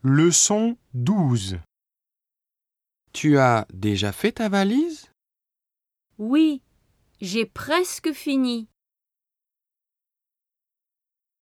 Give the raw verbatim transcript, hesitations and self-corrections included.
Leçon douze. Tu as déjà fait ta valise ? Oui, j'ai presque fini.